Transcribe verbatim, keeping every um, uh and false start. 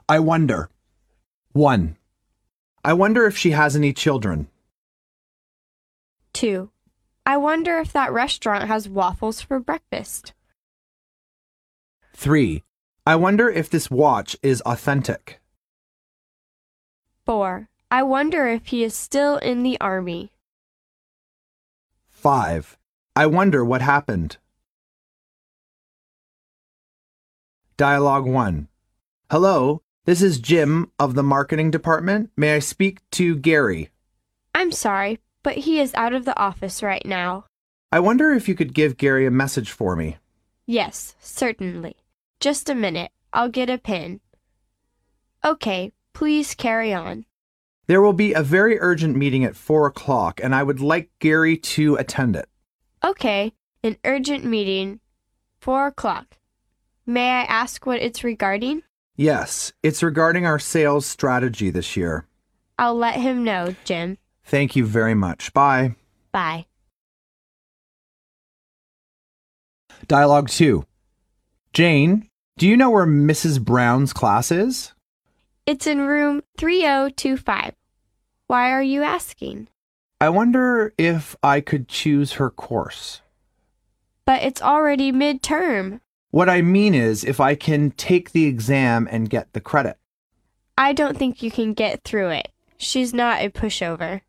I wonder. one. I wonder if she has any children. two. I wonder if that restaurant has waffles for breakfast. three. I wonder if this watch is authentic. four. I wonder if he is still in the army. five. I wonder what happened. Dialogue one. Hello, this is Jim of the marketing department. May I speak to Gary? I'm sorry, but he is out of the office right now. I wonder if you could give Gary a message for me. Yes, certainly. Just a minute. I'll get a pen. Okay, please carry on. There will be a very urgent meeting at four o'clock, and I would like Gary to attend it. Okay, an urgent meeting. Four o'clock. May I ask what it's regarding? Yes, it's regarding our sales strategy this year. I'll let him know, Jim. Thank you very much. Bye. Bye. Dialogue two. Jane, do you know where Missus Brown's class is? It's in room three oh two five. Why are you asking? I wonder if I could choose her course. But it's already midterm. What I mean is if I can take the exam and get the credit. I don't think you can get through it. She's not a pushover.